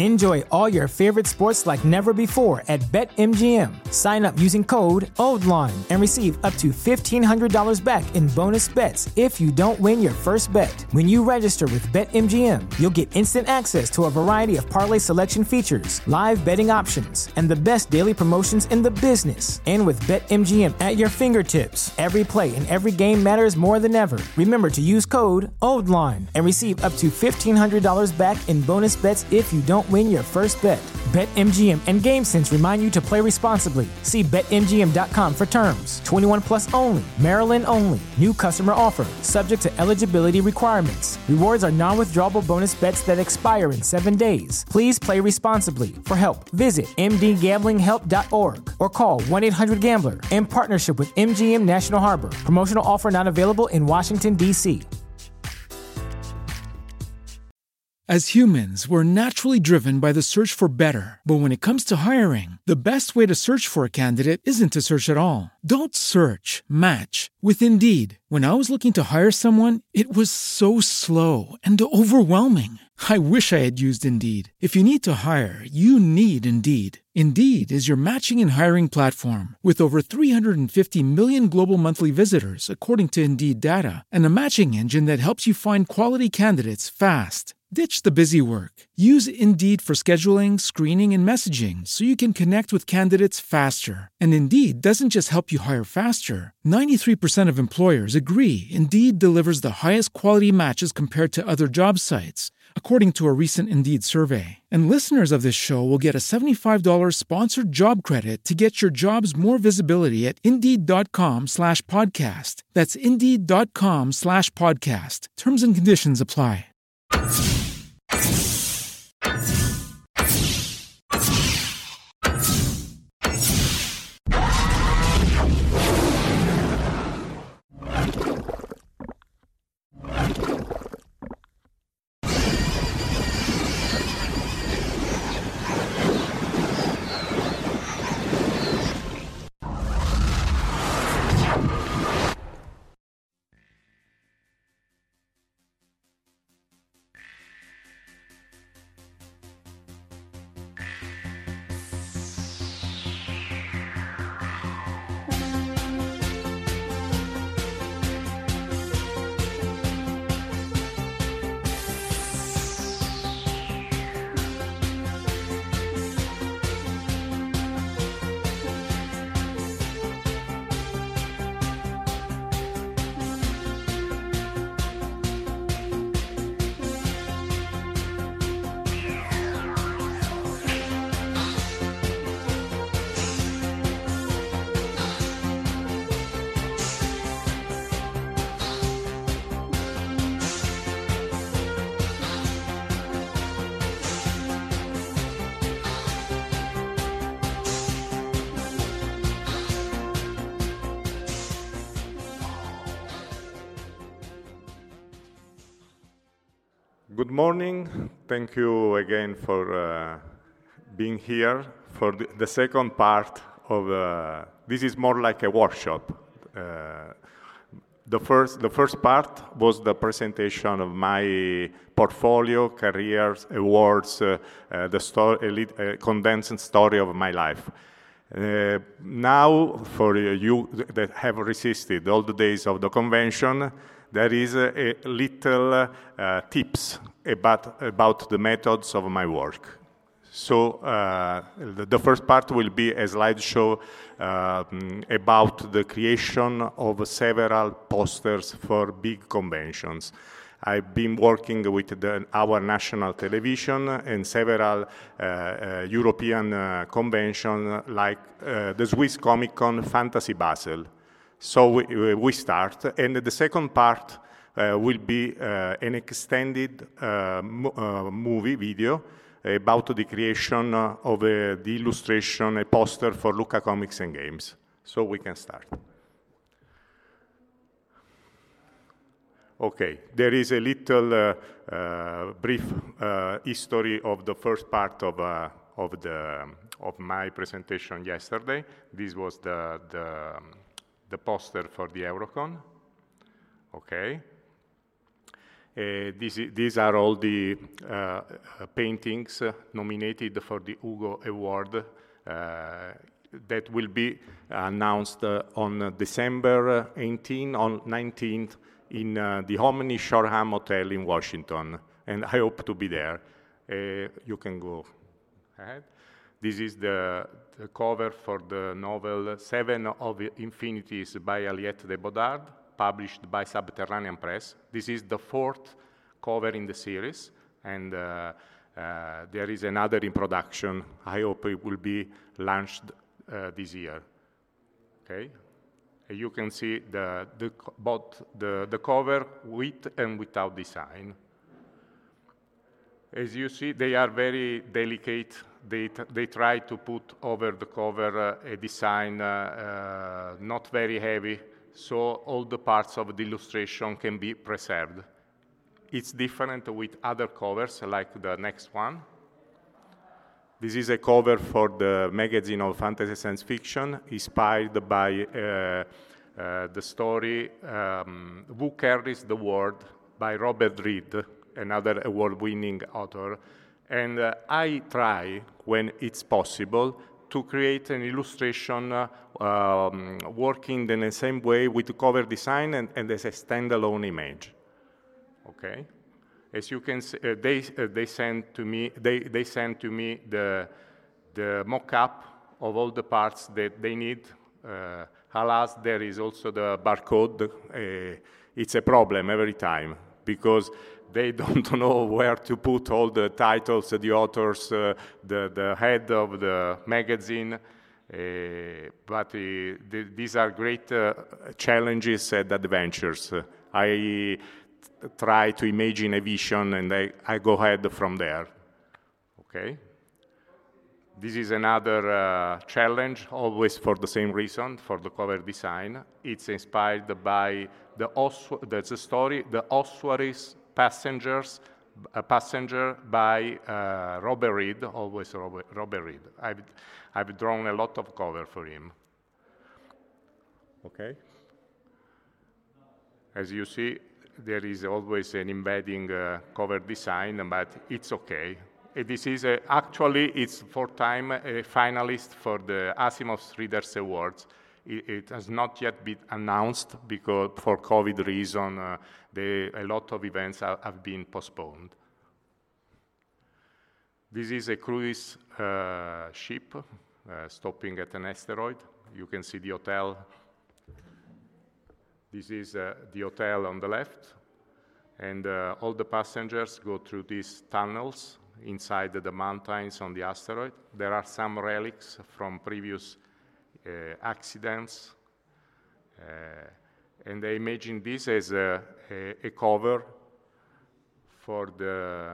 Enjoy all your favorite sports like never before at BetMGM. Sign up using code OldLine and receive up to $1,500 back in bonus bets if you don't win your first bet. When you register with BetMGM, you'll get instant access to a variety of parlay selection features, live betting options, and the best daily promotions in the business. And with BetMGM at your fingertips, every play and every game matters more than ever. Remember to use code OldLine and receive up to $1,500 back in bonus bets if you don't win your first bet. BetMGM and GameSense remind you to play responsibly. See BetMGM.com for terms. 21 plus only. Maryland only. New customer offer. Subject to eligibility requirements. Rewards are non-withdrawable bonus bets that expire in 7 days. Please play responsibly. For help, visit mdgamblinghelp.org or call 1-800-GAMBLER in partnership with MGM National Harbor. Promotional offer not available in Washington, D.C. As humans, we're naturally driven by the search for better. But when it comes to hiring, the best way to search for a candidate isn't to search at all. Don't search, match with Indeed. When I was looking to hire someone, it was so slow and overwhelming. I wish I had used Indeed. If you need to hire, you need Indeed. Indeed is your matching and hiring platform with over 350 million global monthly visitors, according to Indeed data, and a matching engine that helps you find quality candidates fast. Ditch the busy work. Use Indeed for scheduling, screening, and messaging so you can connect with candidates faster. And Indeed doesn't just help you hire faster. 93% of employers agree Indeed delivers the highest quality matches compared to other job sites, according to a recent Indeed survey. And listeners of this show will get a $75 sponsored job credit to get your jobs more visibility at Indeed.com/podcast. That's Indeed.com/podcast. Terms and conditions apply. Good morning. Thank you again for being here for the second part of this is more like a workshop. The first part was the presentation of my portfolio, careers, awards, the story, a condensed story of my life. Now, for you that have resisted all the days of the convention, there is a little tips about the methods of my work. So the first part will be a slideshow about the creation of several posters for big conventions. I've been working with our national television and several European conventions like the Swiss Comic Con, Fantasy Basel. So we start, and the second part will be an extended movie video about the creation of the illustration, a poster for Lucca Comics and Games. So we can start. Okay, there is a little brief history of the first part of my presentation yesterday. This was the poster for the Eurocon. Okay. These are all the paintings nominated for the Hugo Award that will be announced on December 18 on 19th in the Omni Shoreham Hotel in Washington, and I hope to be there. You can go ahead. This is the cover for the novel Seven of Infinities by Aliette de Bodard, published by Subterranean Press. This is the 4th cover in the series, and there is another in production. I hope it will be launched this year. Okay, you can see both the cover with and without design. As you see, they are very delicate. They try to put over the cover a design not very heavy, so all the parts of the illustration can be preserved. It's different with other covers, like the next one. This is a cover for the magazine of fantasy science fiction, inspired by the story Who Carries the World by Robert Reed, another award-winning author. And I try, when it's possible, to create an illustration working in the same way with the cover design and as a standalone image. Okay, as you can see, they sent to me the mock-up of all the parts that they need. Alas, there is also the barcode. It's a problem every time because they don't know where to put all the titles, the authors, the head of the magazine. But these are great challenges and adventures. I try to imagine a vision and I go ahead from there. Okay. This is another challenge, always for the same reason, for the cover design. It's inspired by the story, The Ossuary's Passenger by Robert Reed, always Robert Reed. I've drawn a lot of cover for him. Okay. As you see, there is always an embedding cover design, but it's okay. This is actually, it's 4th time a finalist for the Asimov's Readers Awards. It has not yet been announced because for COVID reason, a lot of events have been postponed. This is a cruise ship stopping at an asteroid. You can see the hotel. This is the hotel on the left, and all the passengers go through these tunnels inside the mountains on the asteroid. There are some relics from previous accidents, and I imagine this as a cover for the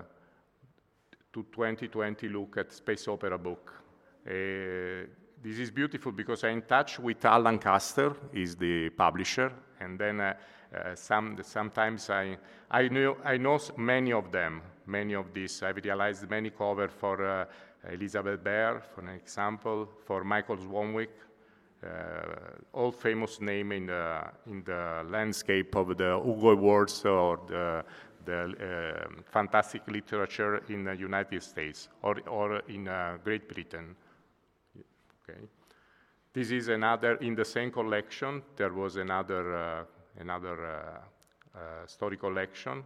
2020 look at Space Opera book. This is beautiful because I'm in touch with Al Lancaster, is the publisher, and then sometimes I know many of them, many of these. I've realized many covers for Elizabeth Bear, for an example, for Michael Swanwick, all famous name in the landscape of the Hugo Awards or the fantastic literature in the United States or in Great Britain. Okay. This is another, in the same collection, there was another story collection,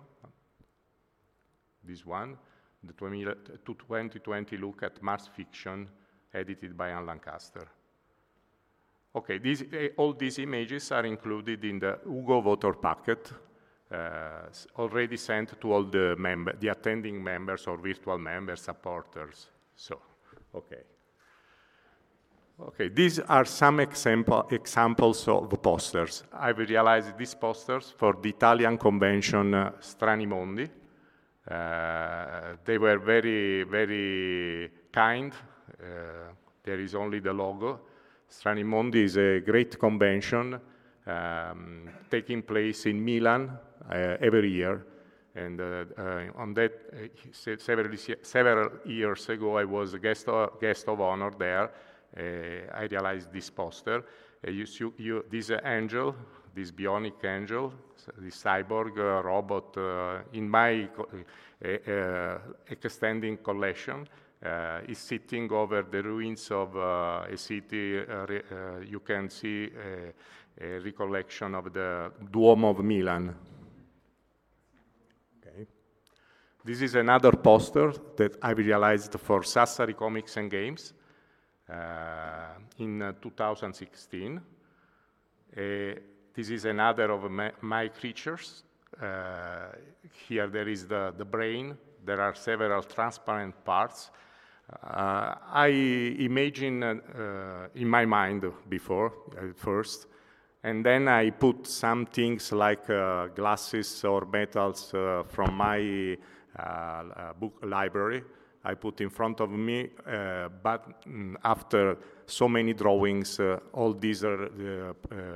this one, the 2020 look at Mars fiction, edited by Anne Lancaster. Okay, all these images are included in the Hugo voter packet, already sent to all the attending members or virtual members, supporters. So, okay. Okay, these are some examples of posters. I've realized these posters for the Italian convention Strani Mondi. They were very, very kind. There is only the logo. Strani Mondi is a great convention taking place in Milan every year. And on that, several years ago, I was a guest of honor there. I realized this poster. This angel, this bionic angel, this cyborg robot, in my extending collection. Is sitting over the ruins of a city. You can see a recollection of the Duomo of Milan. Okay. This is another poster that I realized for Sassari Comics and Games in 2016. This is another of my creatures. Here there is the brain. There are several transparent parts. I imagine in my mind before, at first, and then I put some things like glasses or metals from my book library. I put in front of me, but after so many drawings, all these are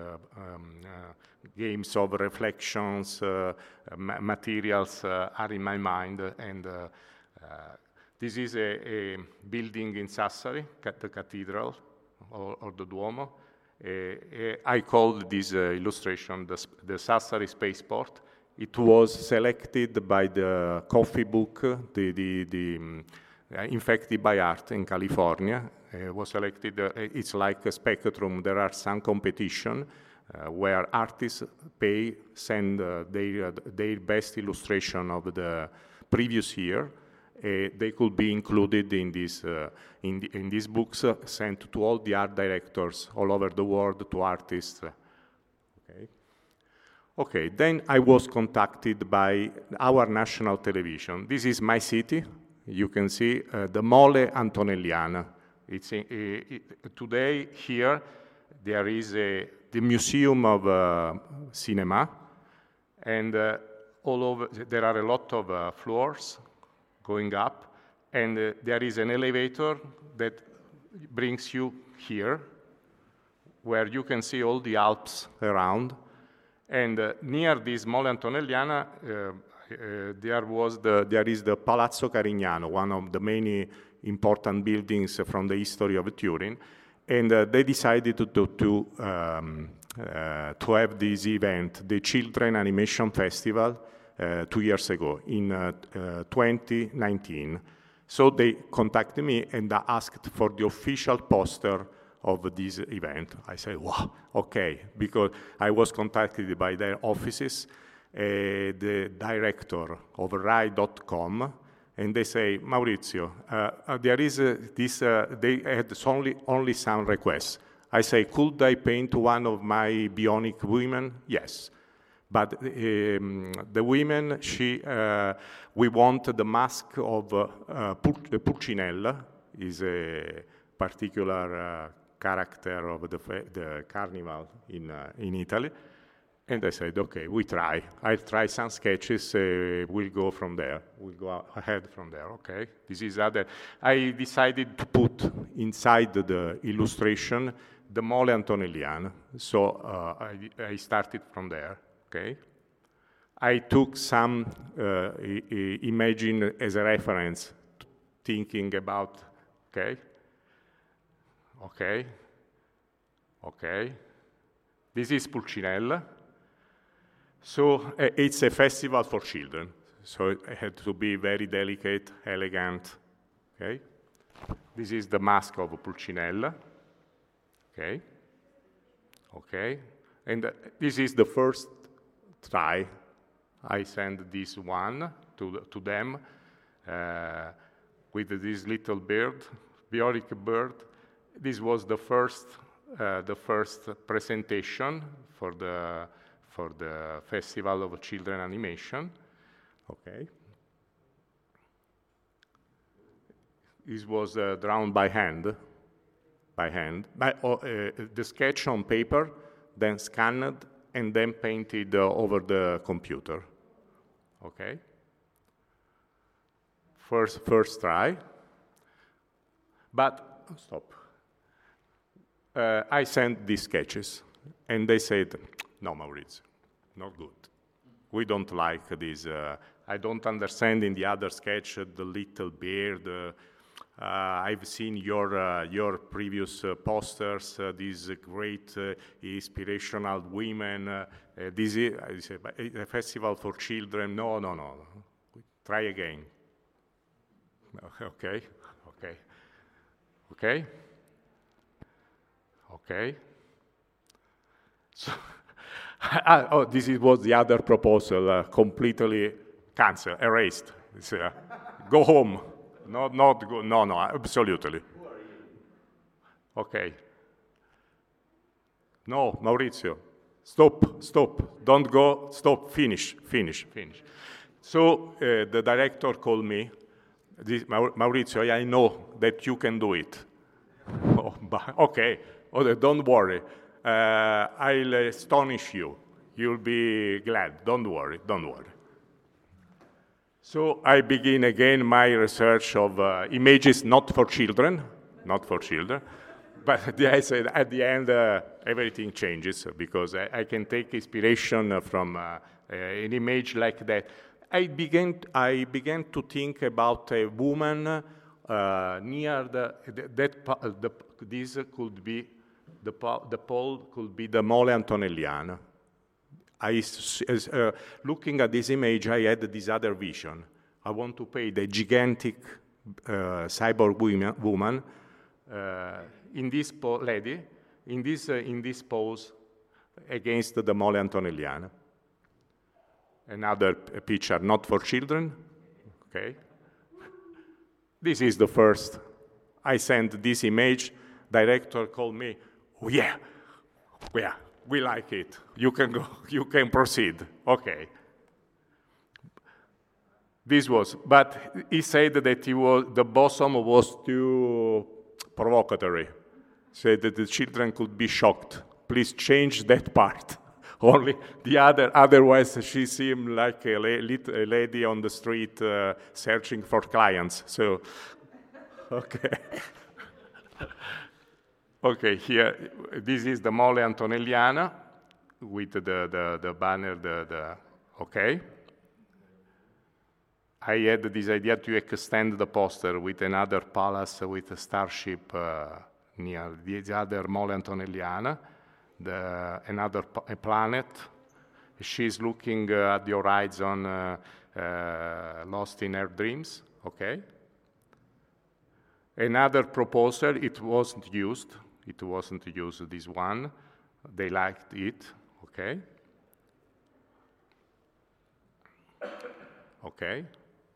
games of reflections, materials are in my mind, and this is a building in Sassari, the cathedral or the Duomo. I called this illustration the Sassari Spaceport. It was selected by the Coffee Book, Infected by Art in California. It was selected. It's like a Spectrum. There are some competition where artists send their best illustration of the previous year. They could be included in these books, sent to all the art directors all over the world, to artists. Okay, then I was contacted by our national television. This is my city. You can see the Mole Antonelliana. Today here there is the Museum of Cinema, and all over there are a lot of floors going up, and there is an elevator that brings you here, where you can see all the Alps around. And near this Mole Antonelliana, there is the Palazzo Carignano, one of the many important buildings from the history of Turin. And they decided to have this event, the Children Animation Festival, 2 years ago, in 2019. So they contacted me and asked for the official poster of this event. I said, wow, okay, because I was contacted by their offices, the director of Rai.com, and they say, Maurizio, there is they had only some requests. I say, could I paint one of my bionic women? Yes. But the women, we want the mask of Pulcinella, is a particular character of the carnival in Italy. And I said, okay, we try. I'll try some sketches, we'll go from there. We'll go ahead from there, okay? This is other. I decided to put inside the illustration the Mole Antonelliana. So I started from there. Okay. I took some imagine as a reference, thinking about, okay. This is Pulcinella. So it's a festival for children. So it had to be very delicate, elegant. Okay. This is the mask of Pulcinella. Okay. And this is the first try. I sent this one to them with this little bird, bionic bird. This was the first presentation for the Festival of Children Animation. Okay. This was drawn by hand. The sketch on paper, then scanned, and then painted over the computer. Okay. First try. But stop. I sent these sketches, and they said, "No, Maurizio, not good. We don't like this. I don't understand in the other sketch the little beard. I've seen your previous posters, these great inspirational women. This is a festival for children. No. Try again. Okay. So, this was the other proposal, completely cancelled, erased. Go home. Not go. No, absolutely. Who are you? Okay. No, Maurizio, stop. Don't go. Stop. Finish. So the director called me. Maurizio, I know that you can do it. Okay. Don't worry. I'll astonish you. You'll be glad. Don't worry. So I begin again my research of images not for children, but I said at the end everything changes because I can take inspiration from an image like that. I began to think about a woman near this could be the pole could be the Mole Antonelliana. Looking at this image, I had this other vision. I want to paint a gigantic cyborg woman in this lady, in this pose against the Mole Antonelliana. Another picture, not for children. Okay. This is the first. I sent this image. Director called me. Oh, yeah. We like it. You can go. You can proceed. Okay. But he said that the bosom was too provocatory. Said that the children could be shocked. Please change that part. Only the otherwise she seemed like a lady on the street searching for clients. So, okay. Okay, here, this is the Mole Antonelliana with the banner, okay. I had this idea to extend the poster with another palace with a starship near the other Mole Antonelliana, a planet. She's looking at the horizon, lost in her dreams, okay. Another proposal, it wasn't used, this one. They liked it, okay. Okay.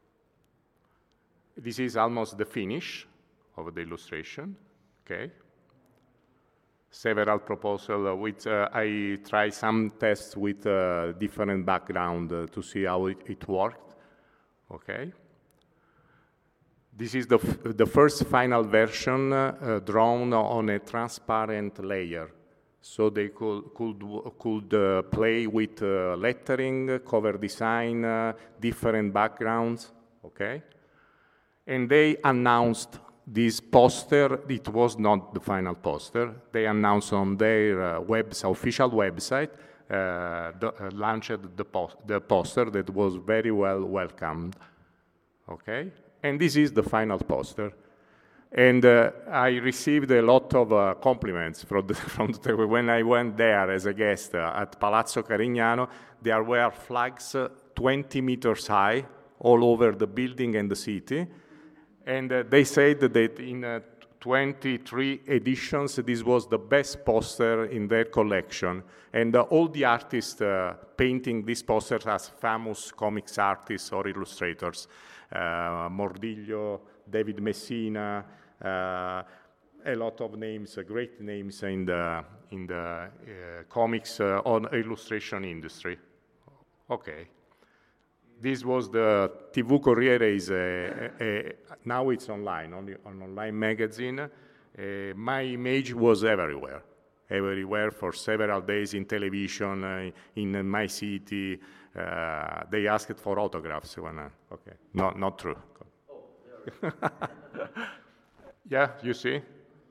This is almost the finish of the illustration, okay. Several proposals with, I tried some tests with different background to see how it worked, okay. This is the first final version drawn on a transparent layer. So they could play with lettering, cover design, different backgrounds, okay? And they announced this poster. It was not the final poster. They announced on their official website, launched the poster that was very well welcomed, okay? And this is the final poster. And I received a lot of compliments when I went there as a guest at Palazzo Carignano. There were flags 20 meters high all over the building and the city. And they said that in 23 editions, this was the best poster in their collection. And all the artists painting these posters as famous comics artists or illustrators. Mordiglio, David Messina, a lot of names, great names in the comics on illustration industry. Okay. This was the TV Corriere, now it's online, only on online magazine. My image was everywhere for several days in television, in my city. They asked for autographs. Okay, no, not true. Oh, yeah, you see?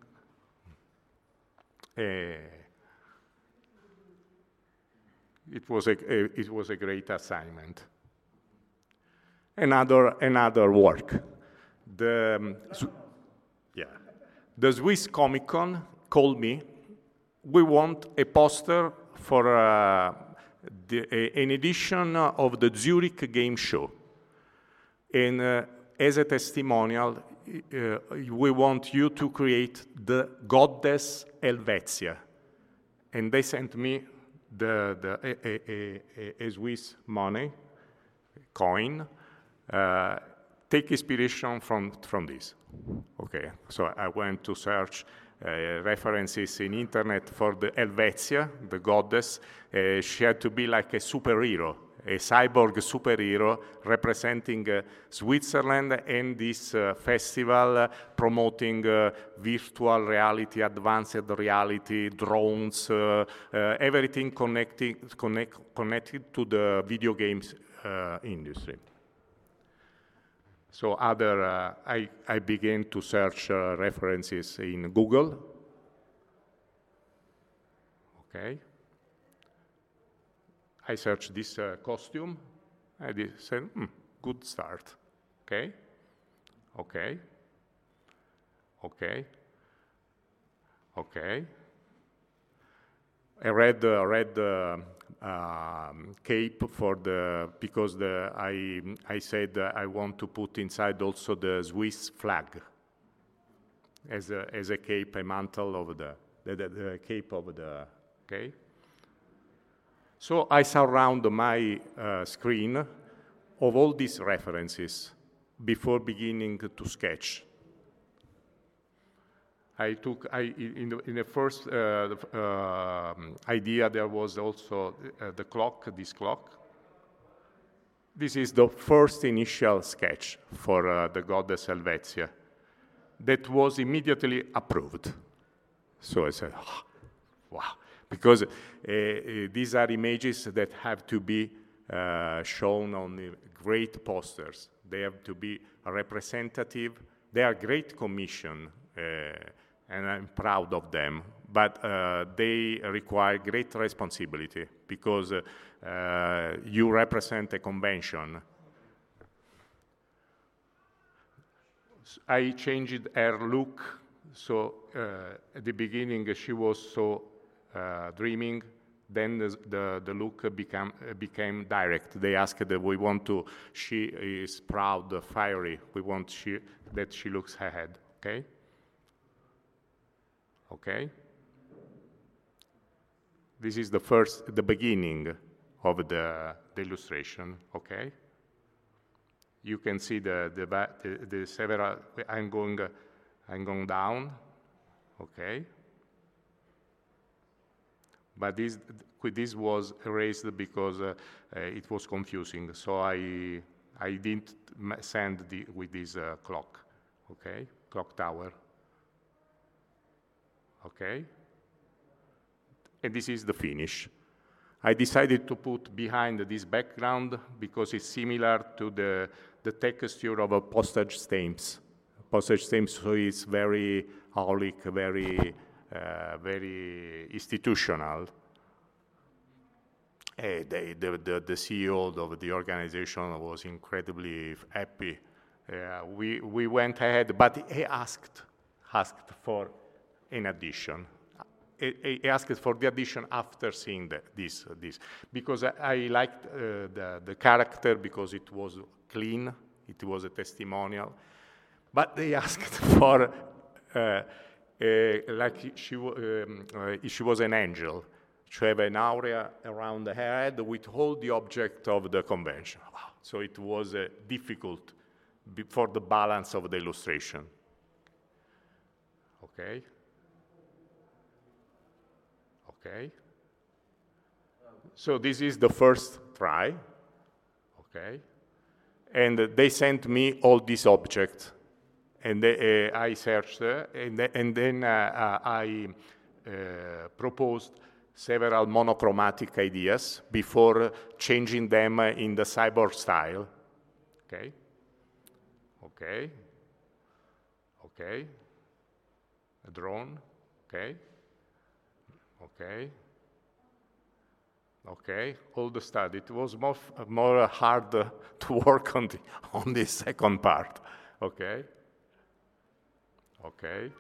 It was a great assignment. Another work. Yeah. The Swiss Comic Con called me. We want a poster for an edition of the Zurich Game Show. And as a testimonial, we want you to create the goddess Helvetia. And they sent me a Swiss money, coin. Take inspiration from this. Okay, so I went to search references in internet for the Helvetia, the goddess. She had to be like a superhero, a cyborg superhero representing Switzerland and this festival promoting virtual reality, advanced reality, drones, everything connected to the video games industry. So I began to search references in Google. Okay. I searched this costume. I said, good start. Okay. Okay. Okay. Okay. I read cape because I said I want to put inside also the Swiss flag as a cape, a mantle of the cape of the, okay? So I surround my screen of all these references before beginning to sketch. In the first idea, there was also the clock, this clock. This is the first initial sketch for the goddess Helvetia that was immediately approved. So I said, oh, wow, because these are images that have to be shown on the great posters. They have to be representative. They are great commission. And I'm proud of them, but they require great responsibility because you represent a convention. I changed her look, so at the beginning she was so dreaming, then the look became direct. They asked that she is proud, fiery, we want that she looks ahead, okay? Okay? This is the beginning of the illustration, okay? You can see the several, I'm going down, okay? But this was erased because it was confusing, so I didn't send with this clock, okay? Clock tower. Okay, and this is the finish. I decided to put behind this background because it's similar to the texture of a postage stamps. Postage stamps, so it's very aulic, very institutional. The CEO of the organization was incredibly happy. We went ahead, but he asked for an addition. He asked for the addition after seeing this, because I liked the character because it was clean, it was a testimonial, but they asked for like she was an angel. She had an aura around her head with all the object of the convention. Wow. So it was difficult for the balance of the illustration. Okay. Okay. So this is the first try. Okay. And they sent me all these objects, and I searched, and then I proposed several monochromatic ideas before changing them in the cyborg style. Okay. Okay. Okay. A drone. Okay. Okay. Okay. All the study. It was more hard to work on the second part. Okay. Okay.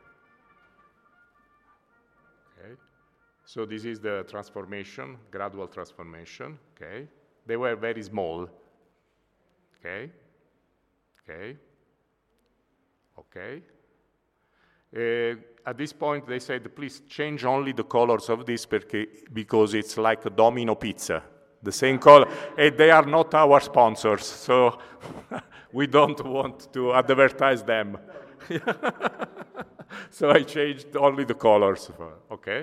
Okay. So this is the transformation, gradual transformation. Okay. They were very small. Okay. Okay. Okay. At this point, they said, please change only the colors of this because it's like a Domino pizza. The same color. And they are not our sponsors, so we don't want to advertise them. So I changed only the colors. Okay.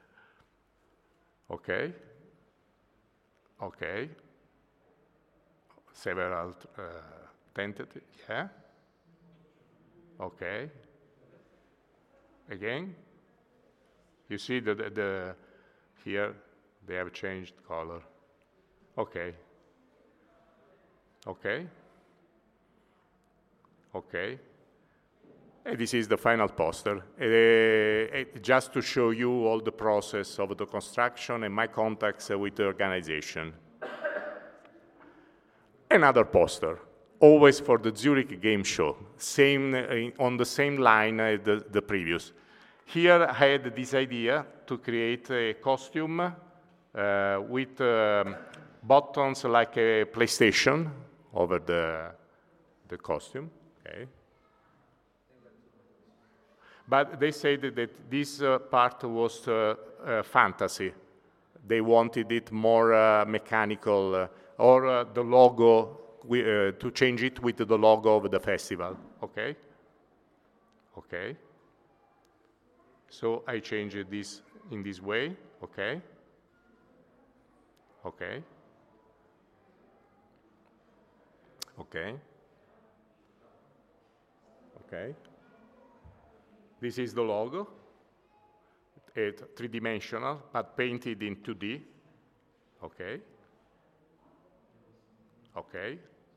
Okay. Okay. Several tentatives. Yeah. Okay. Again. You see the here they have changed color. Okay. Okay. Okay. And this is the final poster. Just to show you all the process of the construction and my contacts with the organization. Another poster, always for the Zurich Game Show, on the same line as the previous. Here I had this idea to create a costume with buttons like a PlayStation over the costume. Okay. But they said that this part was fantasy. They wanted it more mechanical, or the logo, to change it with the logo of the festival. Okay? Okay. So I changed this in this way. Okay? Okay. Okay. Okay. This is the logo. It's three-dimensional, but painted in 2D. Okay. Okay.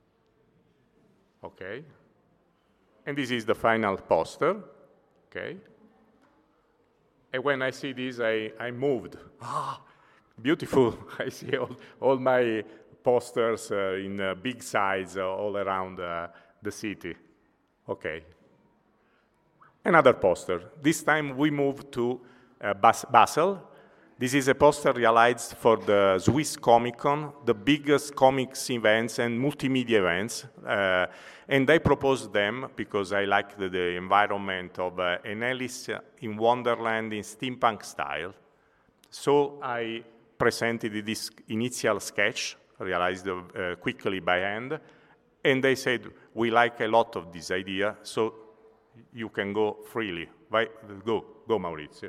Okay. And this is the final poster. Okay. And when I see this, I moved. Ah, beautiful. I see all my posters in big size all around the city. Okay. Another poster. This time we moved to Basel. This is a poster realized for the Swiss Comic Con, the biggest comics events and multimedia events. And I proposed them because I liked the environment of an Alice in Wonderland in steampunk style. So I presented this initial sketch, realized quickly by hand, and they said, we like a lot of this idea, so you can go freely. Go Maurizio.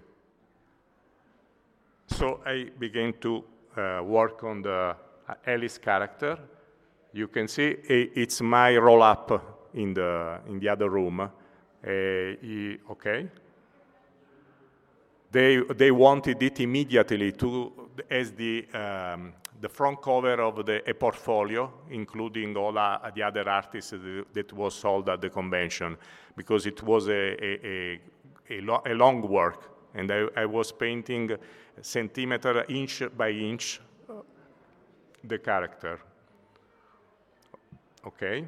So I began to work on the Alice character. You can see it's my roll-up in the other room. Okay. They wanted it immediately as the front cover of a portfolio, including all the other artists that was sold at the convention, because it was a long work, and I was painting centimeter, inch by inch, the character. Okay.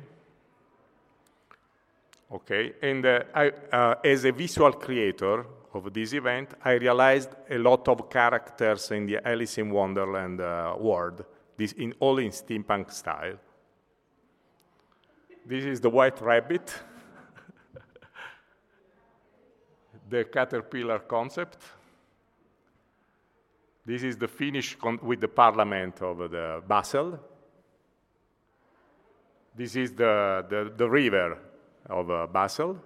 Okay, and as a visual creator of this event, I realized a lot of characters in the Alice in Wonderland world, all in steampunk style. This is the White Rabbit, the caterpillar concept. This is the finish with the Parliament of the Basel. This is the river of Basel.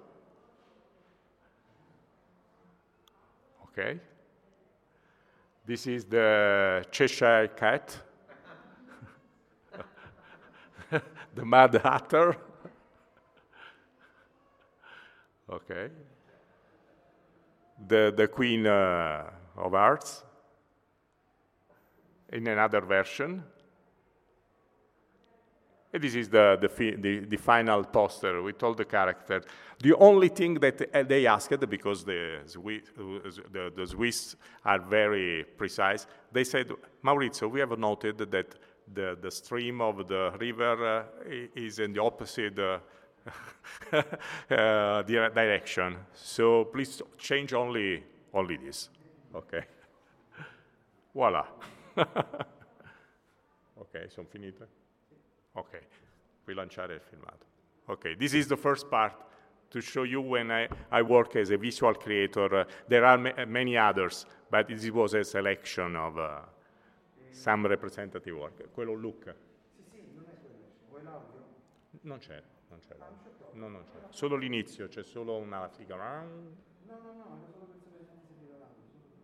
Okay. This is the Cheshire Cat, the Mad Hatter. Okay. The Queen of Hearts in another version. And this is the final poster with all the characters. The only thing that they asked, because the Swiss are very precise, they said, Maurizio, we have noted that the stream of the river is in the opposite direction. So please change only this. Okay. Voila. Ok, sono finite? Ok, rilanciare il filmato. Ok, this is the first part to show you when I work as a visual creator. There are many others, but this was a selection of some representative work. Quello Luca. Sì, non è quello. Vuoi l'audio? Non c'è. No, non c'è. Solo l'inizio, c'è solo una figa. No, era solo per sapere se ti serviva l'audio.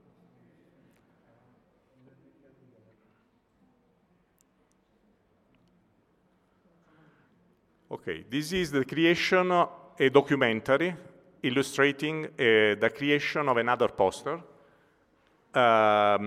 Okay, this is the creation of a documentary illustrating the creation of another poster. A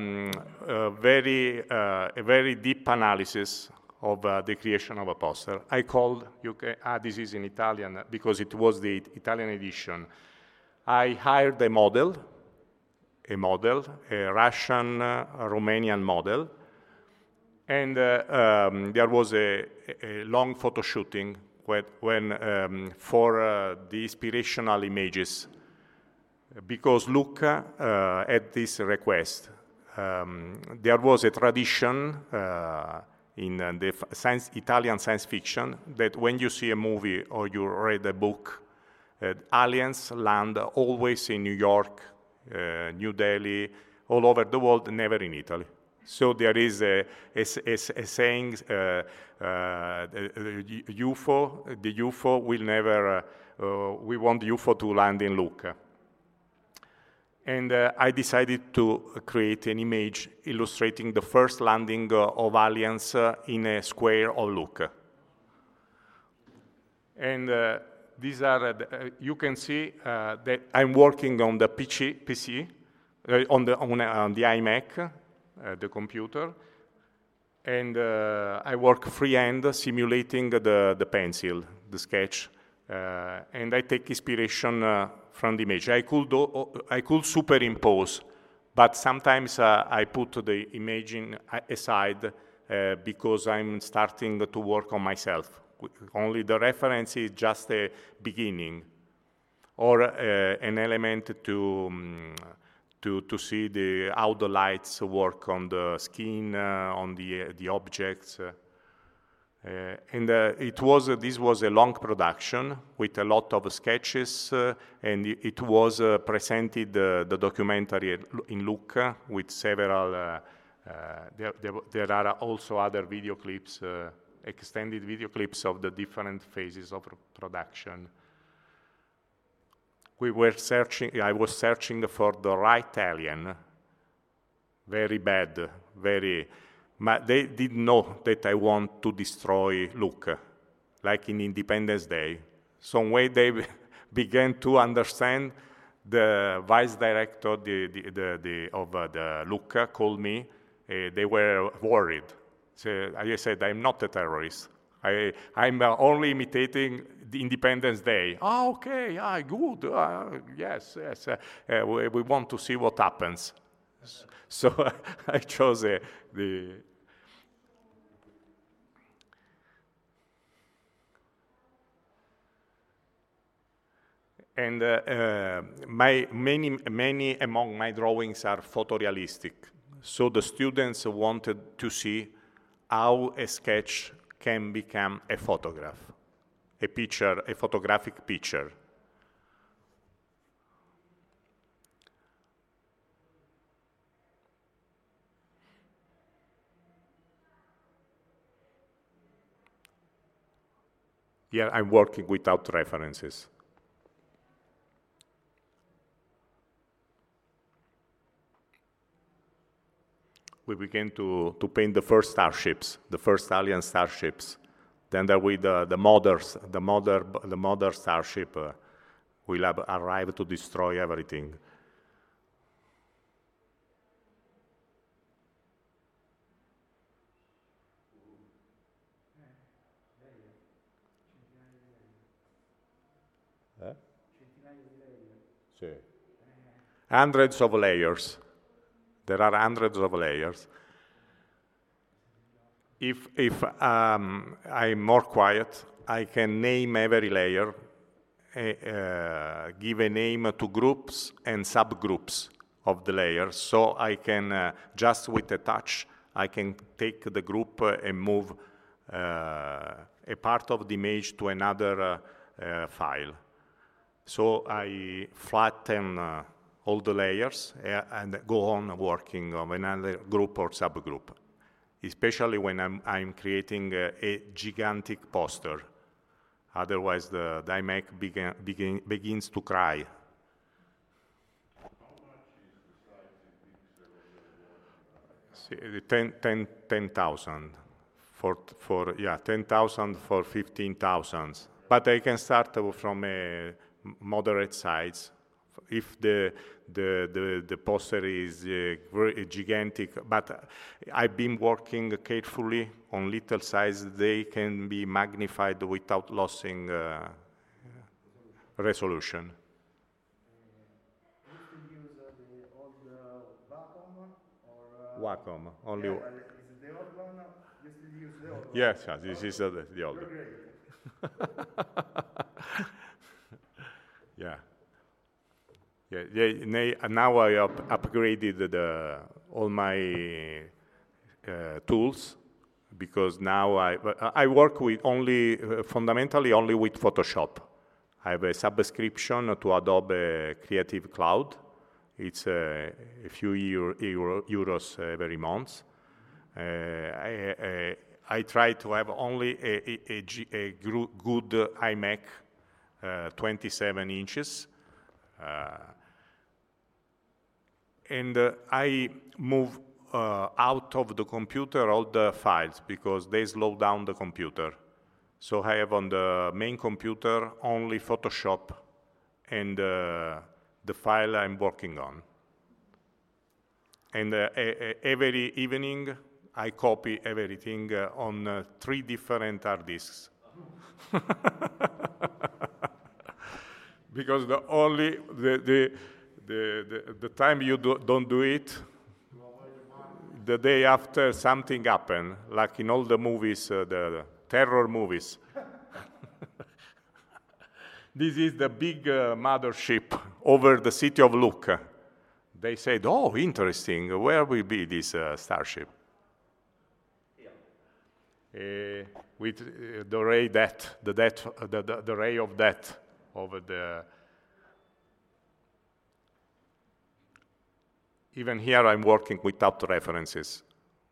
very deep analysis of the creation of a poster. I called, this is in Italian because it was the Italian edition. I hired a model, a Russian, Romanian model, and there was a long photo shooting when for the inspirational images, because Luca had this request. There was a tradition in the Italian science fiction that when you see a movie or you read a book, aliens land always in New York, New Delhi, all over the world, never in Italy. So there is a saying, the UFO will never, we want the UFO to land in Lucca. And I decided to create an image illustrating the first landing of aliens in a square of Lucca. And these are, you can see that I'm working on the PC, on the iMac, the computer, and I work freehand simulating the pencil, the sketch, and I take inspiration from the image. I could superimpose, but sometimes I put the image aside because I'm starting to work on myself. Only the reference is just a beginning, or an element to see how the lights work on the skin, on the objects. And this was a long production with a lot of sketches, and it was presented, the documentary in Lucca with several, there are also other video clips, extended video clips of the different phases of production. I was searching for the right alien, very bad, but they didn't know that I want to destroy Lucca, like in Independence Day. Some way they began to understand. The vice director of the Lucca called me. They were worried. So I said, I'm not a terrorist. I'm only imitating the Independence Day. Oh, okay, good. Yes. We want to see what happens. So I chose the. And many among my drawings are photorealistic. So the students wanted to see how a sketch can become a photograph, a picture, a photographic picture. Yeah, I'm working without references. We began to paint the first starships, the first alien starships. Then there will the mother starship will arrive to destroy everything. Sì. Hundreds of layers. There are hundreds of layers. If I'm more quiet, I can name every layer, give a name to groups and subgroups of the layer. So I can, just with a touch, I can take the group and move a part of the image to another file. So I flatten all the layers and go on working on another group or subgroup, especially when I'm creating a gigantic poster. Otherwise, the iMac begins to cry. See, 10,000 for 10,000 for 15,000. But I can start from a moderate size. If the poster is very gigantic, but I've been working carefully on little size. They can be magnified without losing resolution. You still use the old Wacom or? Wacom only. Yeah, is it the old one? You still use the old one? Yes, this is the old. Yeah. Yeah, now I upgraded all my tools, because now I work with fundamentally only with Photoshop. I have a subscription to Adobe Creative Cloud. It's a few euros every month. I try to have only a good iMac, 27 inches. And I move out of the computer all the files, because they slow down the computer. So I have on the main computer only Photoshop and the file I'm working on. And every evening I copy everything on 3 different hard disks. Because the time you don't do it, the day after something happened, like in all the movies, the terror movies. This is the big mothership over the city of Lucca. They said, "Oh, interesting. Where will be this starship?" With the ray death, the ray of death over the. Even here, I'm working without references.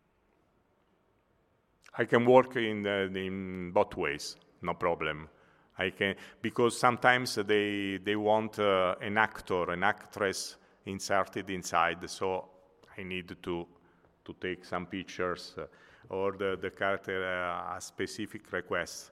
I can work in both ways, no problem. I can, because sometimes they want an actor, an actress inserted inside, so I need to take some pictures or the character a specific request.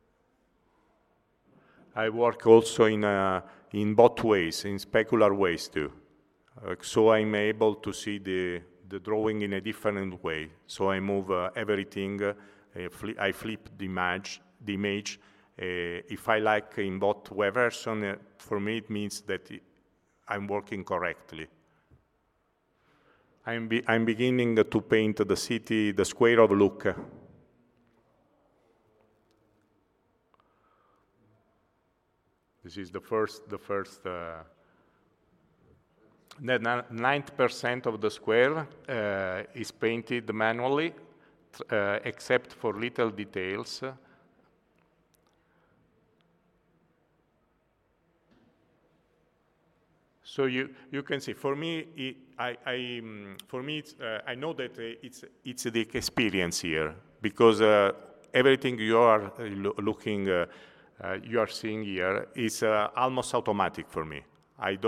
I work also in both ways, in specular ways too. So I'm able to see the drawing in a different way. So I move everything, I flip the image. If I like in both versions, for me it means that I'm working correctly. I'm beginning to paint the city, the square of Lucca. This is the first. 90% of the square is painted manually, except for little details. So you can see. For me, I know that it's the experience here, because everything you are looking, you are seeing here is almost automatic for me. I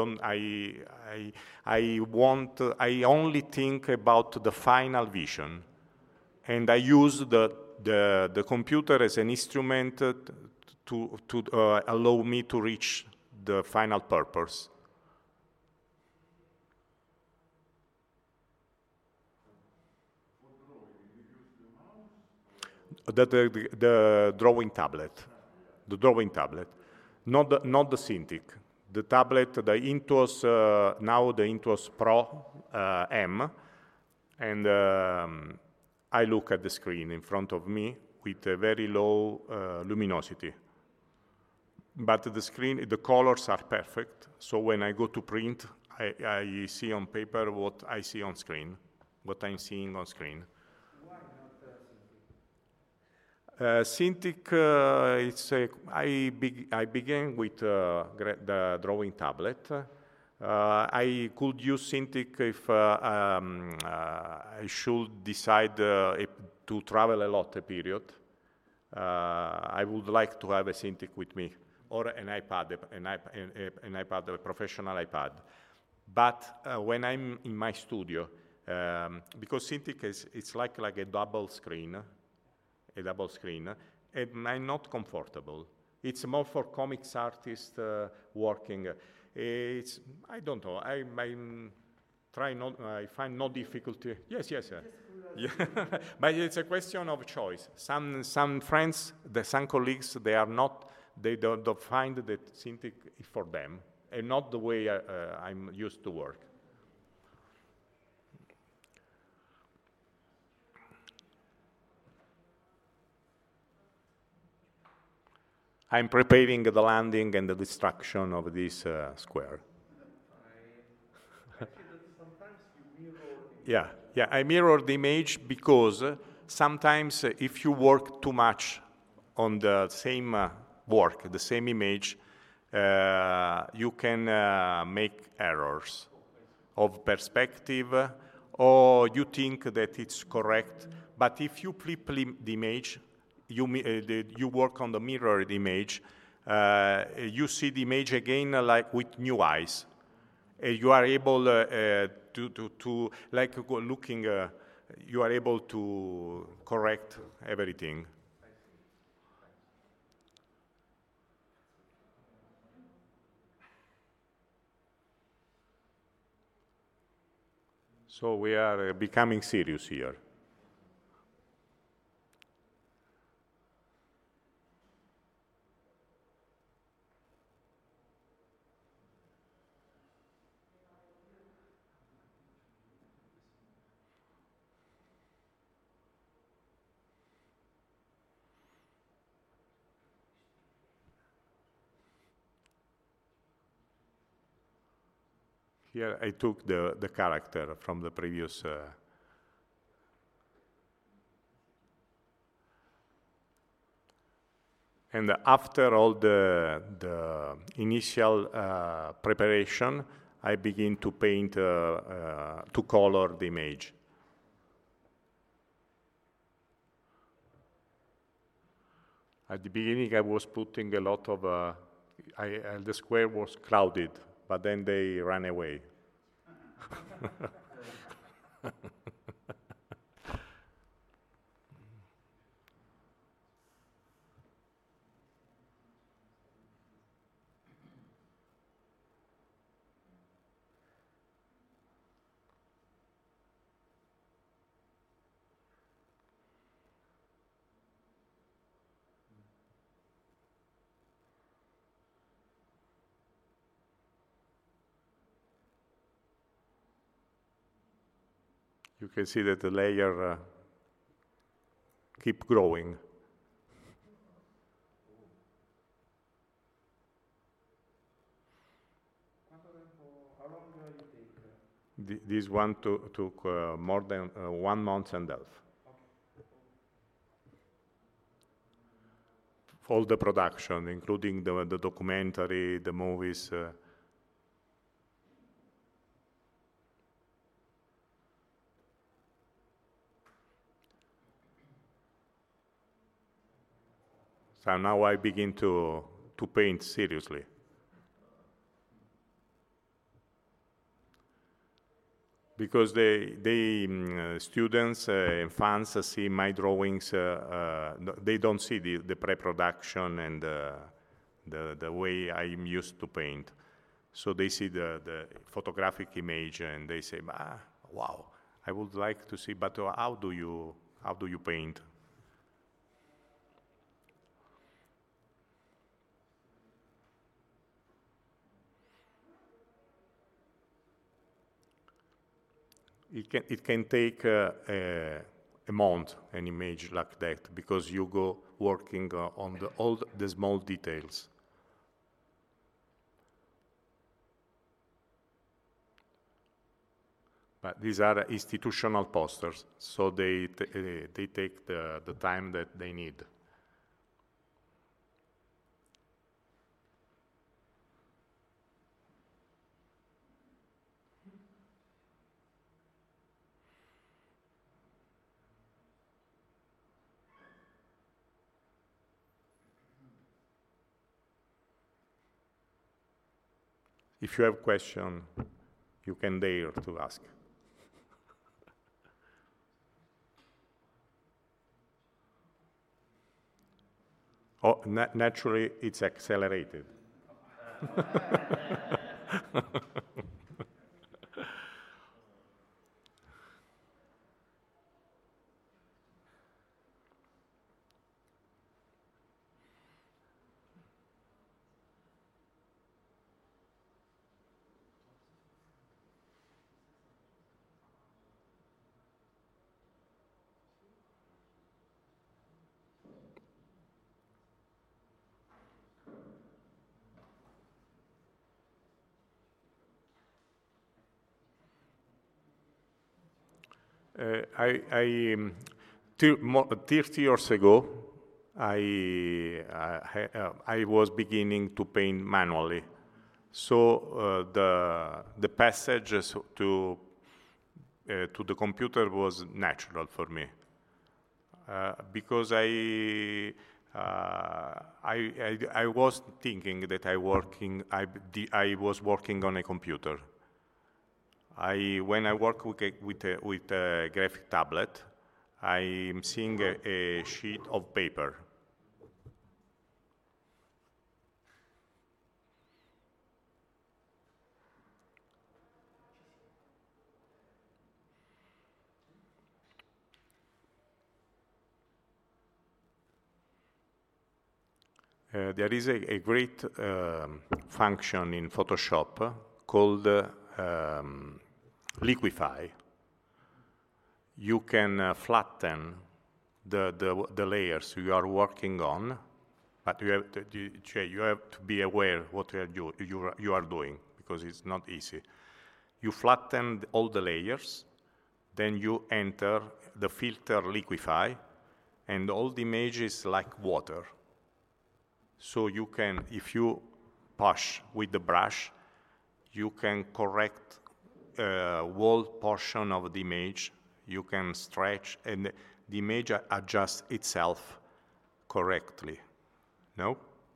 only think about the final vision, and I use the computer as an instrument to allow me to reach the final purpose. The drawing tablet, not the Cintiq. The tablet, the Intuos, now the Intuos Pro M, and I look at the screen in front of me, with a very low luminosity. But the screen, the colors are perfect. So when I go to print, I see on paper what I see on screen, what I'm seeing on screen. Why not Cintiq, I began with the drawing tablet. I could use Cintiq if I should decide to travel a lot a period. I would like to have a Cintiq with me, or an iPad, an iPad, a professional iPad. But when I'm in my studio, because Cintiq it's like a double screen, and I'm not comfortable. It's more for comics artists working. I don't know. I find no difficulty. Yes. Yeah. But it's a question of choice. Some friends, some colleagues, they don't find that Cintiq is for them, and not the way I'm used to work. I'm preparing the landing and the destruction of this square. I see that sometimes you mirror. Yeah, I mirror the image because sometimes if you work too much on the same work, the same image, you can make errors of perspective, or you think that it's correct. But if you flip the image, you work on the mirrored image, you see the image again like with new eyes. You are able to like looking, you are able to correct everything. So we are becoming serious here. Here I took the character from the previous. And after all the initial preparation, I begin to paint, to color the image. At the beginning, I was putting a lot of, the square was crowded, but then they ran away. You can see that the layer keep growing. How long you take? This one took more than 1 month and a half. Okay. All the production, including the documentary, the movies. So now I begin to paint seriously. Because students and fans see my drawings, they don't see the pre-production and the way I'm used to paint. So they see the photographic image and they say, wow, I would like to see, but how do you paint? It can take a mount an image like that, because you go working on all the small details. But these are institutional posters, so they take the time that they need. If you have questions, you can dare to ask. Oh, naturally, it's accelerated. I 30 years ago, I was beginning to paint manually. So the passage to the computer was natural for me, because I was thinking that I was working on a computer. When I work with a graphic tablet, I'm seeing a sheet of paper. There is a great function in Photoshop called liquify. You can flatten the layers you are working on, but you have to be aware what you are doing, because it's not easy. You flatten all the layers, then you enter the filter liquify, and all the image is like water. So you can, if you push with the brush, you can correct whole portion of the image. You can stretch, and the image adjusts itself correctly. No?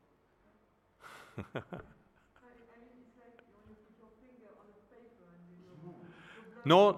No,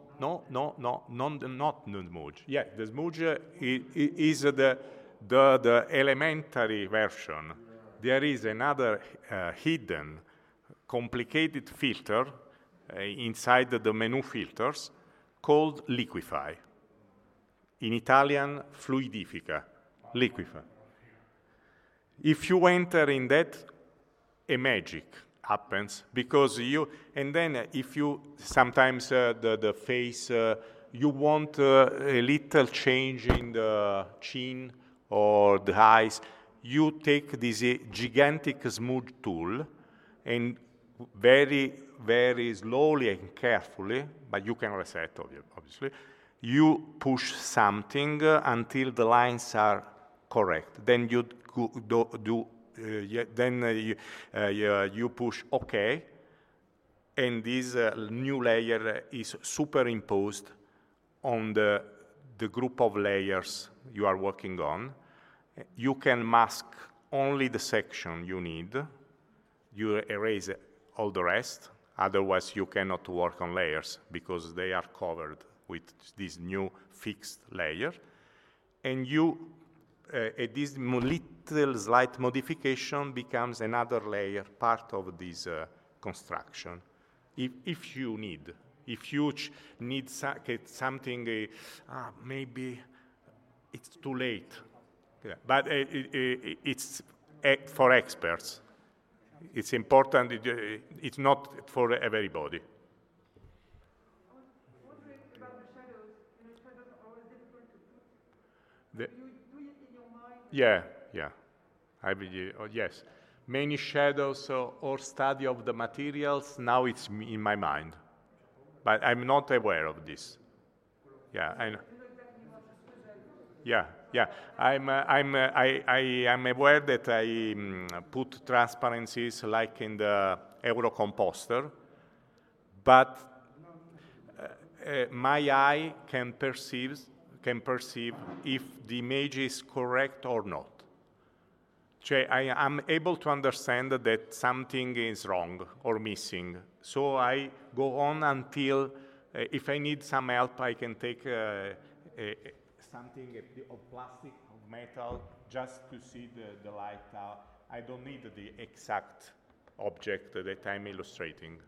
not the smudge. Yeah, the smudge is the elementary version. There is another hidden, complicated filter inside the menu filters called liquify. In Italian, fluidifica, liquify. If you enter in that, a magic happens, because and then if you, sometimes the face, you want a little change in the chin or the eyes, you take this gigantic smooth tool, and very, very slowly and carefully, but you can reset, obviously, you push something until the lines are correct. Then you you push OK, and this new layer is superimposed on the group of layers you are working on. You can mask only the section you need. You erase all the rest. Otherwise, you cannot work on layers, because they are covered with this new fixed layer. And this little slight modification becomes another layer, part of this construction. If you need. If you need something, maybe it's too late. Yeah. But it's for experts. It's important. It's not for everybody. I was wondering about the shadows. Shadows are always difficult Do you do it in your mind? Yeah. Yes. Many shadows or study of the materials, now it's in my mind. But I'm not aware of this. Yeah, I know. Yeah. I am aware that I put transparencies like in the Eurocomposter, but my eye can perceive if the image is correct or not. I am able to understand that something is wrong or missing. So I go on until, if I need some help, I can take something of plastic, of metal, just to see the light out. I don't need the exact object that I'm illustrating.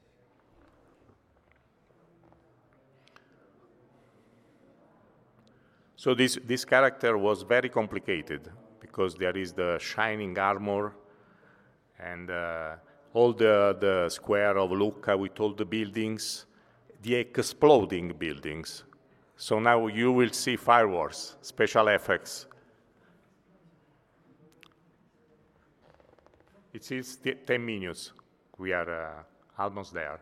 So this character was very complicated because there is the shining armor and all the square of Lucca with all the buildings, the exploding buildings. So now you will see fireworks, special effects. It is 10 minutes. We are almost there.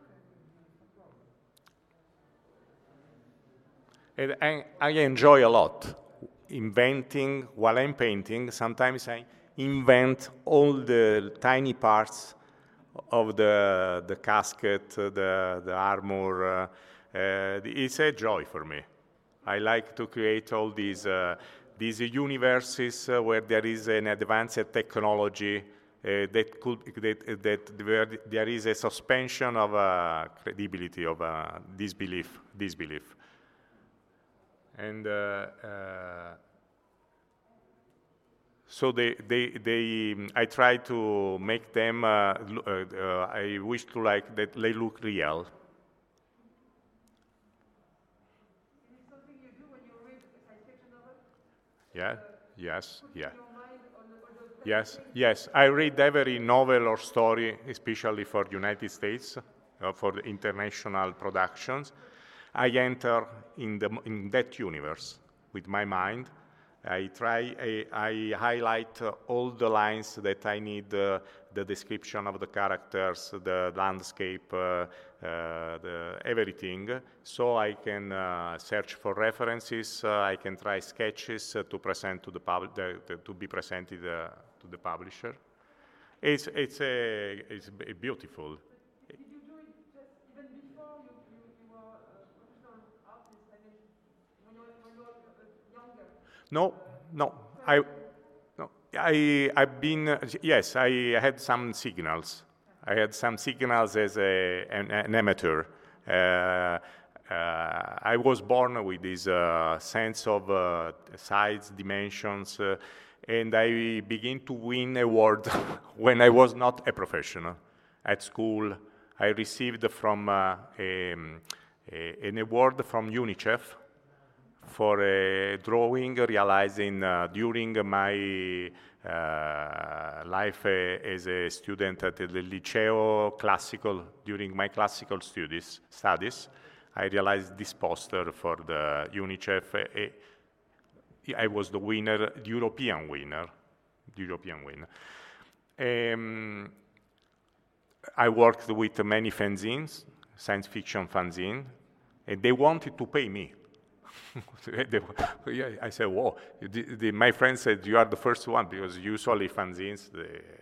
And I enjoy a lot inventing while I'm painting. Sometimes I invent all the tiny parts of the casket, the armor. It's a joy for me. I like to create all these universes where there is an advanced technology where there is a suspension of credibility, of disbelief. And so I try to make them, I wish to like that they look real. Is it something you do when you read a science fiction novel? Yeah, yes, yeah. Put your mind on those Yes. I read every novel or story, especially for the United States, for the international productions. I enter in that universe with my mind. I highlight all the lines that I need, the description of the characters, the landscape, everything. So I can search for references. I can try sketches to present to to be presented to the publisher. It's beautiful. Did you do it just even before you were a professional artist? I mean, when you were younger? I've been, yes, I had some signals. I had some signals as an amateur. I was born with this sense of size, dimensions, and I began to win awards when I was not a professional. At school, I received from an award from UNICEF for a drawing realizing during my life as a student at the Liceo Classical, during my classical studies, I realized this poster for the UNICEF. I was the winner, the European winner. I worked with many fanzines, science fiction fanzine, and they wanted to pay me. I said, whoa. My friend said, you are the first one, because usually fanzines,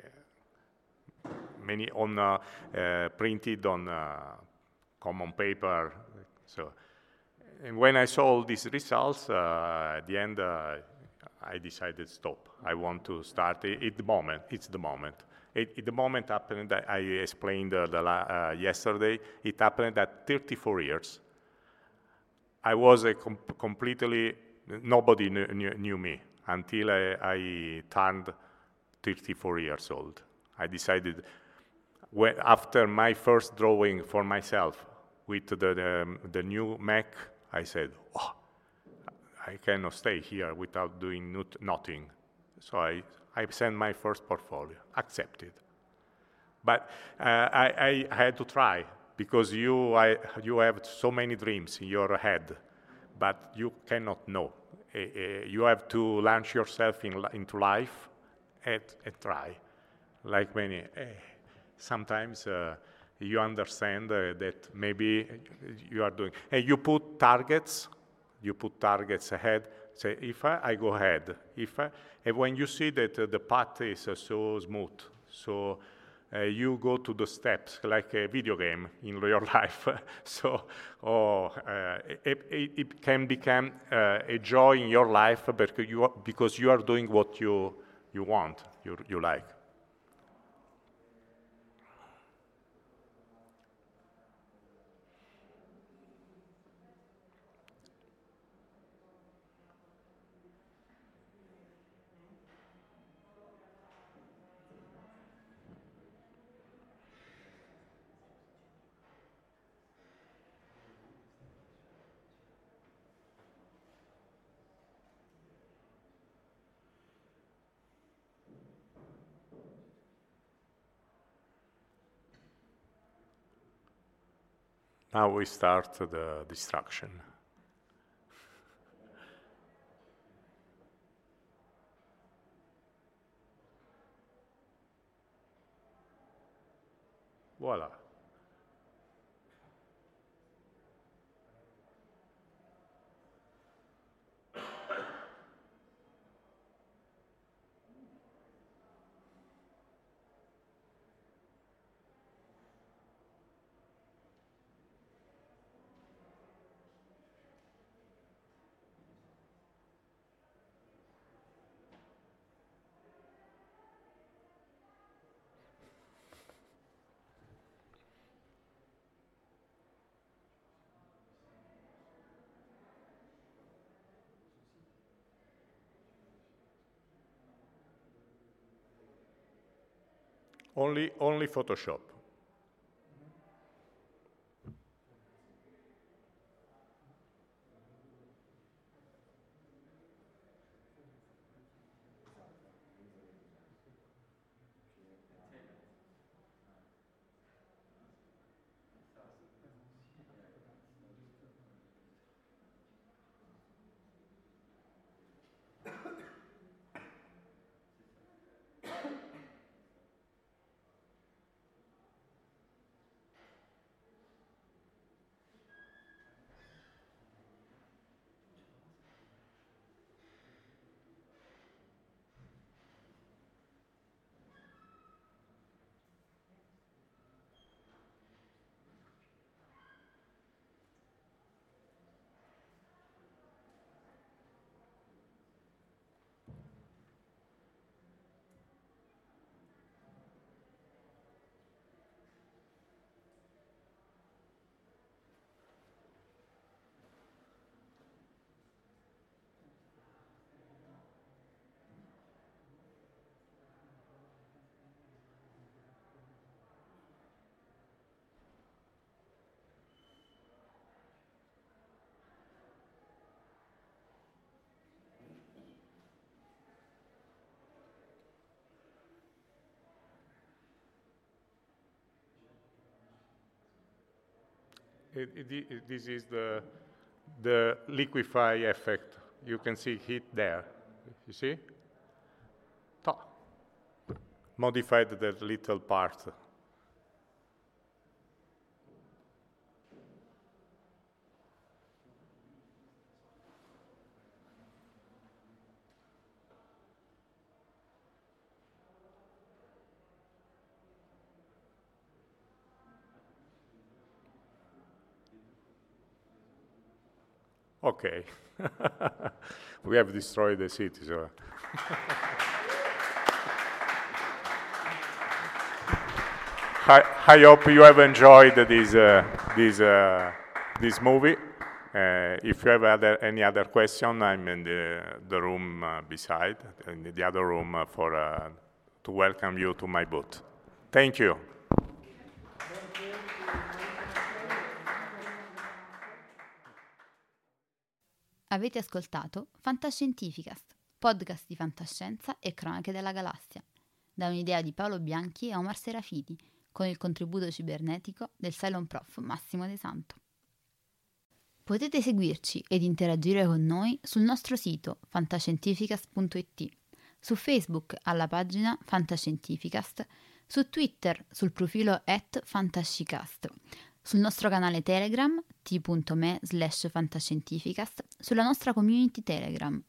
many on printed on common paper. So, and when I saw all these results, at the end, I decided stop. I want to start at the moment. It's the moment. The moment happened that I explained yesterday. It happened at 34 years. I was completely, nobody knew me until I turned 34 years old. I decided, after my first drawing for myself with the new Mac, I said, oh, I cannot stay here without doing nothing. So I sent my first portfolio, accepted. But I had to try, because you have so many dreams in your head, but you cannot know. you have to launch yourself into life and try. Like many, sometimes you understand that maybe you are doing, and you put targets ahead. Say, if I go ahead, and when you see that the path is so smooth, so you go to the steps like a video game in your life. So it can become a joy in your life because you are doing what you want, you like. Now we start the distraction. Voila. Only Photoshop. This is the liquefy effect. You can see heat there. You see? Modified that little part. Okay. We have destroyed the city, so. I hope you have enjoyed this movie. If you have any other question, I'm in the room beside, in the other room to welcome you to my booth. Thank you. Avete ascoltato Fantascientificast, podcast di fantascienza e cronache della galassia, da un'idea di Paolo Bianchi e Omar Serafiti, con il contributo cibernetico del Cylon Prof Massimo De Santo. Potete seguirci ed interagire con noi sul nostro sito fantascientificast.it, su Facebook alla pagina Fantascientificast, su Twitter sul profilo @fantascicast, sul nostro canale Telegram t.me/fantascientificast, sulla nostra community Telegram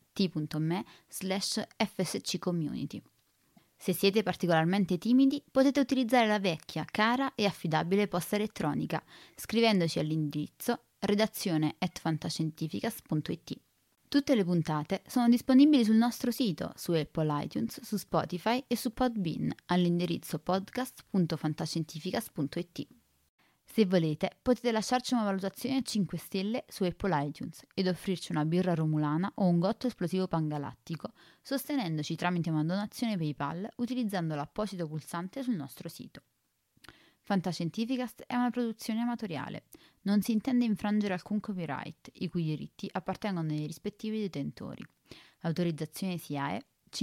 t.me/fsccommunity. Se siete particolarmente timidi, potete utilizzare la vecchia, cara e affidabile posta elettronica, scrivendoci all'indirizzo redazione@fantascientificast.it. Tutte le puntate sono disponibili sul nostro sito, su Apple iTunes, su Spotify e su Podbean, all'indirizzo podcast.fantascientificast.it. Se volete, potete lasciarci una valutazione a 5 stelle su Apple iTunes ed offrirci una birra romulana o un gotto esplosivo pangalattico, sostenendoci tramite una donazione PayPal utilizzando l'apposito pulsante sul nostro sito. Fantascientificast è una produzione amatoriale. Non si intende infrangere alcun copyright, i cui diritti appartengono ai rispettivi detentori. L'autorizzazione SIAE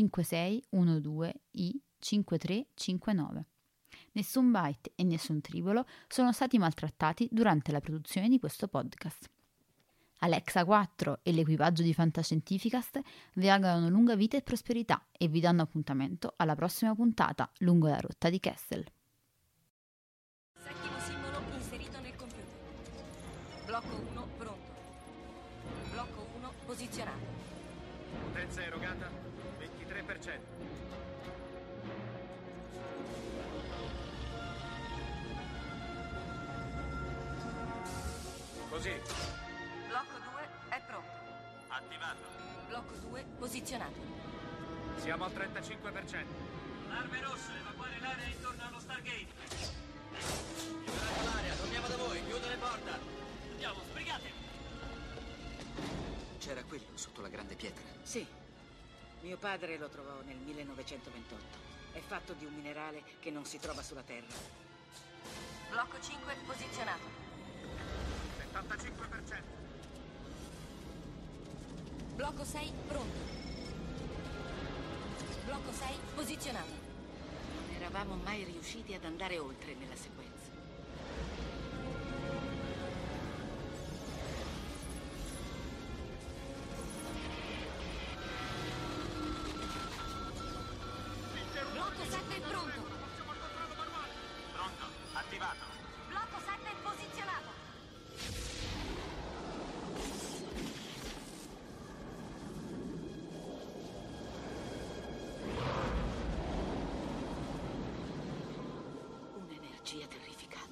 5612I5359. Nessun byte e nessun tribolo sono stati maltrattati durante la produzione di questo podcast. Alexa 4 e l'equipaggio di Fantascientificast vi augurano lunga vita e prosperità e vi danno appuntamento alla prossima puntata lungo la rotta di Kessel. Settimo simbolo inserito nel computer. Blocco 1 pronto. Blocco 1 posizionato. Potenza erogata 23%. Così. Blocco 2 è pronto. Attivato. Blocco 2 posizionato. Siamo al 35%. Arme rosse, evacuare l'area intorno allo Stargate. Liberate l'area, torniamo da voi, chiudo le porte. Andiamo, sbrigate. C'era quello sotto la grande pietra. Sì. Mio padre lo trovò nel 1928. È fatto di un minerale che non si trova sulla Terra. Blocco 5 posizionato. 75%. Blocco 6 pronto. Blocco 6 posizionato. Non eravamo mai riusciti ad andare oltre nella sequenza. Blocco 7 pronto. Pronto, attivato. Blocco 7 posizionato. Un'energia terrificante.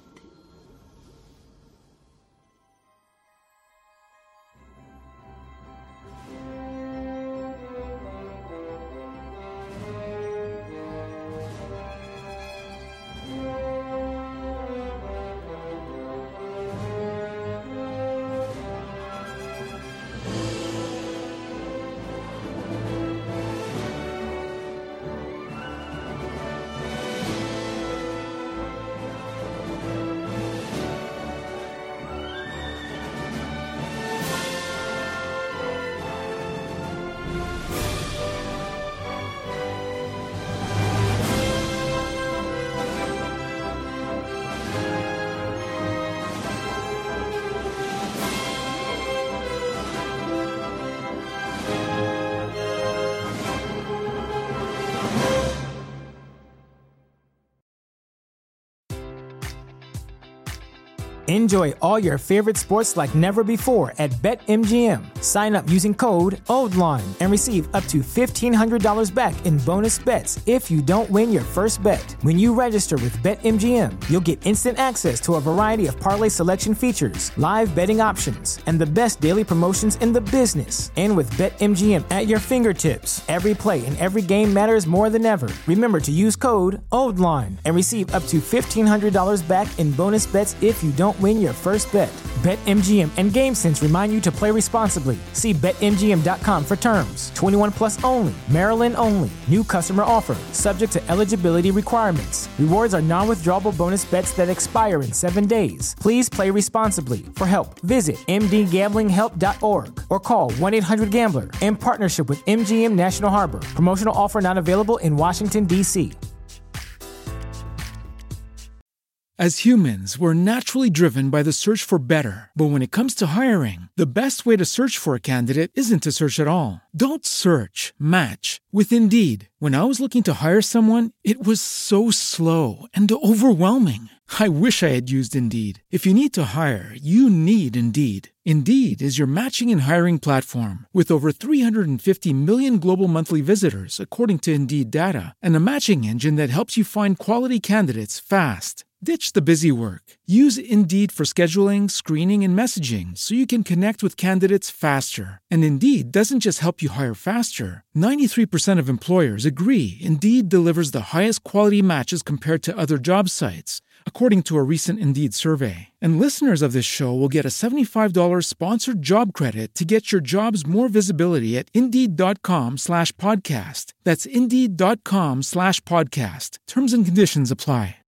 Enjoy all your favorite sports like never before at BetMGM. Sign up using code OldLine and receive up to $1,500 back in bonus bets if you don't win your first bet. When you register with BetMGM, you'll get instant access to a variety of parlay selection features, live betting options, and the best daily promotions in the business. And with BetMGM at your fingertips, every play and every game matters more than ever. Remember to use code OldLine and receive up to $1,500 back in bonus bets if you don't win your first bet. BetMGM and GameSense remind you to play responsibly. See BetMGM.com for terms. 21 plus only. Maryland only. New customer offer. Subject to eligibility requirements. Rewards are non-withdrawable bonus bets that expire in 7 days. Please play responsibly. For help, visit mdgamblinghelp.org or call 1-800-GAMBLER in partnership with MGM National Harbor. Promotional offer not available in Washington, D.C. As humans, we're naturally driven by the search for better. But when it comes to hiring, the best way to search for a candidate isn't to search at all. Don't search, match with Indeed. When I was looking to hire someone, it was so slow and overwhelming. I wish I had used Indeed. If you need to hire, you need Indeed. Indeed is your matching and hiring platform with over 350 million global monthly visitors, according to Indeed data, and a matching engine that helps you find quality candidates fast. Ditch the busy work. Use Indeed for scheduling, screening, and messaging so you can connect with candidates faster. And Indeed doesn't just help you hire faster. 93% of employers agree Indeed delivers the highest quality matches compared to other job sites, according to a recent Indeed survey. And listeners of this show will get a $75 sponsored job credit to get your jobs more visibility at Indeed.com/podcast. That's Indeed.com/podcast. Terms and conditions apply.